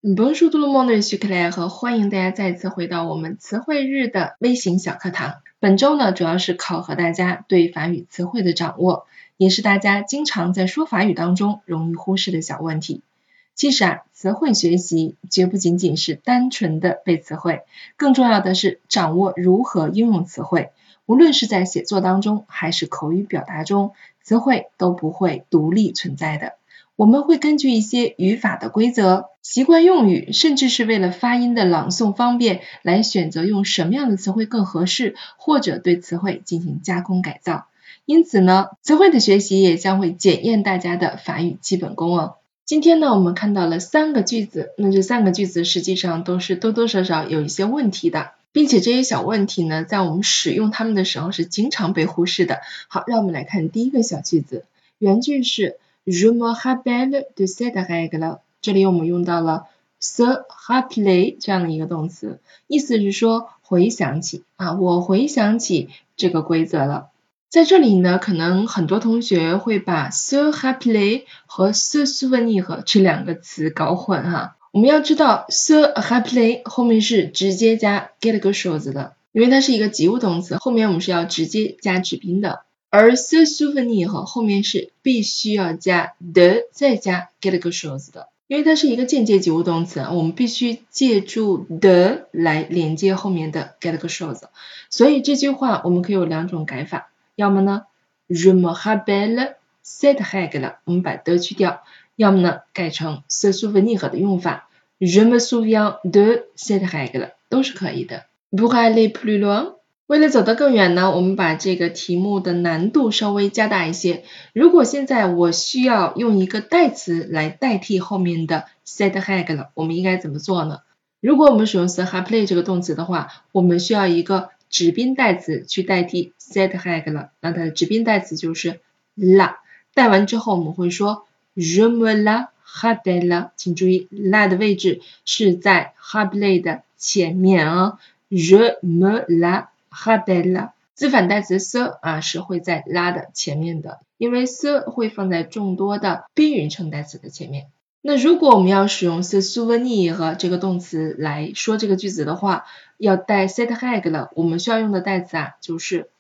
Bonjour tout le monde, je suis Claire 和欢迎大家再次回到我们词汇日的微型小课堂。本周呢，主要是考核大家对法语词汇的掌握，也是大家经常在说法语当中容易忽视的小问题。其实词汇学习绝不仅仅是单纯的背词汇，更重要的是掌握如何应用词汇。无论是在写作当中还是口语表达中，词汇都不会独立存在的。我们会根据一些语法的规则、习惯用语，甚至是为了发音的朗诵方便，来选择用什么样的词汇更合适，或者对词汇进行加工改造。因此呢，词汇的学习也将会检验大家的法语基本功哦。今天呢，我们看到了3个句子，那这3个句子实际上都是多多少少有一些问题的，并且这些小问题呢，在我们使用它们的时候是经常被忽视的。好，让我们来看第一个小句子，原句是Je me rappelle de cette règle， 这里我们用到了 se rappeler 这样的一个动词，意思是说回想起我回想起这个规则了。在这里呢，可能很多同学会把 se rappeler 和 se souvenir 这2个词搞混哈。我们要知道 se rappeler 后面是直接加 quelque chose 的，因为它是一个及物动词，后面我们是要直接加指宾的。而 se souvenir 后面是必须要加 de 再加 quelque chose 的，因为它是一个间接及物动词，我们必须借助 de 来连接后面的 quelque chose， 所以这句话我们可以有2种改法，要么呢 je me rappelle cette règle， 我们把 de 去掉，要么呢改成 se souvenir 的用法 je me souviens de cette règle， 都是可以的。Pour aller plus loin，为了走得更远呢，我们把这个题目的难度稍微加大一些。如果现在我需要用一个代词来代替后面的 cette règle， 我们应该怎么做呢？如果我们使用 se rappeler 这个动词的话，我们需要一个指宾代词去代替 cette règle， 那它的指宾代词就是 la， 代完之后我们会说 je me la rappelle， 请注意 la 的位置是在 rappeler 的前面啊 je me la rappelle， 字反代词 se 是会在 la 的前面的，因为 se 会放在众多的宾语称代词的前面。那如果我们要使用 se souvenir 这个动词来说这个句子的话，要带 cette règle， 我们需要用的代词就是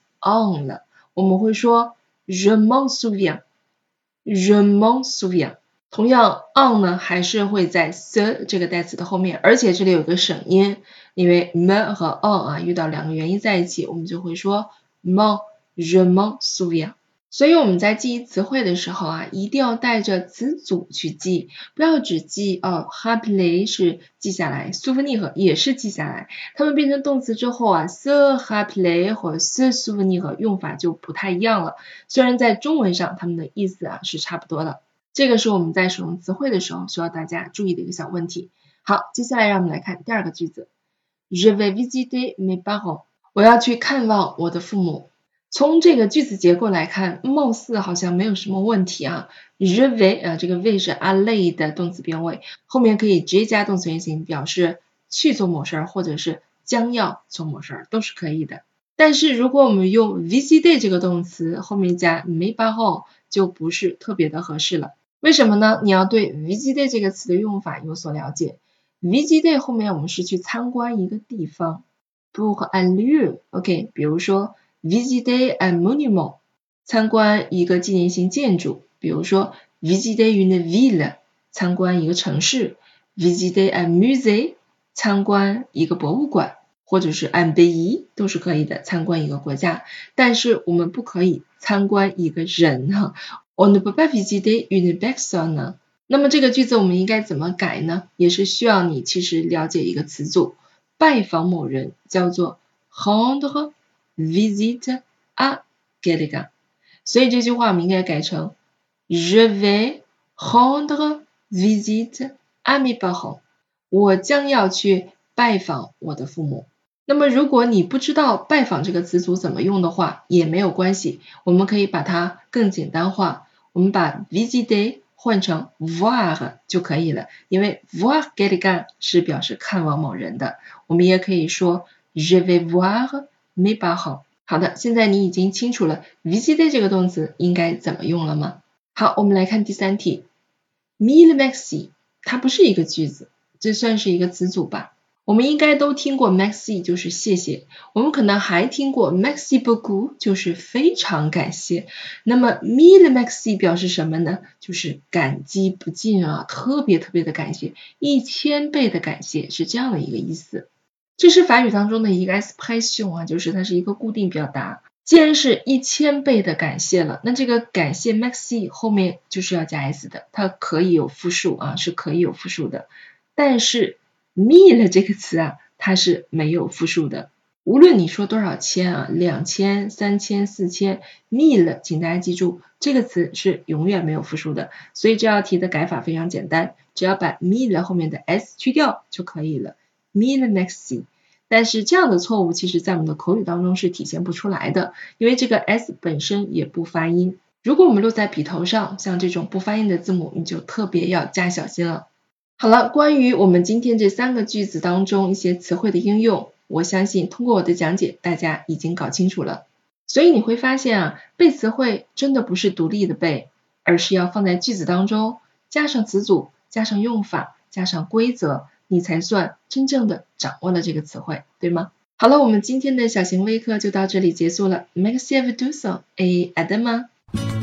on 了。我们会说 je m'en souviens， je m'en souviens。同样 on 呢还是会在 se 这个代词的后面，而且这里有个省音，因为 me 和 on 遇到2个元音在一起，我们就会说 je m'en souviens。所以我们在记忆词汇的时候一定要带着词组去记，不要只记rappeler 是记下来 souvenir 也是记下来，它们变成动词之后se rappeler 和 se souvenir 用法就不太一样了，虽然在中文上它们的意思是差不多的。这个是我们在使用词汇的时候需要大家注意的一个小问题。好，接下来让我们来看第2个句子 Je vais visiter mes parents， 我要去看望我的父母。从这个句子结构来看，貌似好像没有什么问题Je vais 这个 vais 是 aller 的动词变位，后面可以直接加动词原形表示去做某事或者是将要做某事都是可以的。但是如果我们用 visiter 这个动词后面加 mes parents 就不是特别的合适了。为什么呢？你要对 visiter 这个词的用法有所了解。visiter 后面我们是去参观一个地方 pour un lieu OK， 比如说visiter un monument， 参观一个纪念性建筑，比如说 visiter une ville， 参观一个城市 visiter un musée， 参观一个博物馆，或者是 un pays 都是可以的，参观一个国家。但是我们不可以参观一个人On ne peut pas visiter une personne。 那么这个句子我们应该怎么改呢？也是需要你其实了解一个词组，拜访某人叫做 rendre visite à quelqu'un， 所以这句话我们应该改成 Je vais rendre visite à mes parents， 我将要去拜访我的父母。那么如果你不知道拜访这个词组怎么用的话也没有关系，我们可以把它更简单化，我们把 visiter 换成 voir 就可以了，因为 voir quelqu'un 是表示看望某人的，我们也可以说 Je vais voir mes parents。 好的，现在你已经清楚了 visiter 这个动词应该怎么用了吗？好，我们来看第3题 Mille merci， 它不是一个句子， 这算是一个词组吧。我们应该都听过 merci 就是谢谢，我们可能还听过 merci beaucoup 就是非常感谢。那么 mille merci 表示什么呢？就是感激不尽啊，特别特别的感谢，1000倍的感谢，是这样的一个意思。这是法语当中的一个 expression 啊，就是它是一个固定表达。既然是1000倍的感谢了，那这个感谢 merci 后面就是要加 s 的，它可以有复数啊，是可以有复数的。但是 mille 这个词啊，它是没有复数的。无论你说多少千啊，2000、3000、4000 mille 请大家记住，这个词是永远没有复数的。所以这道题的改法非常简单，只要把 mille 后面的 s 去掉就可以了。mille merci。但是这样的错误其实在我们的口语当中是体现不出来的，因为这个 s 本身也不发音。如果我们落在笔头上，像这种不发音的字母，你就特别要加小心了。好了，关于我们今天这3个句子当中一些词汇的应用，我相信通过我的讲解，大家已经搞清楚了。所以你会发现啊，背词汇真的不是独立的背，而是要放在句子当中，加上词组，加上用法，加上规则，你才算真正的掌握了这个词汇，对吗？好了，我们今天的小型微课就到这里结束了。Merci à vous tous et à demain.